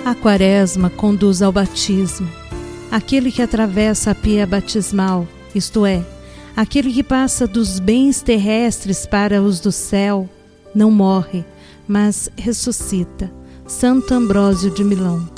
A Quaresma conduz ao batismo. Aquele que atravessa a pia batismal, isto é, aquele que passa dos bens terrestres para os do céu, não morre, mas ressuscita. Santo Ambrósio de Milão.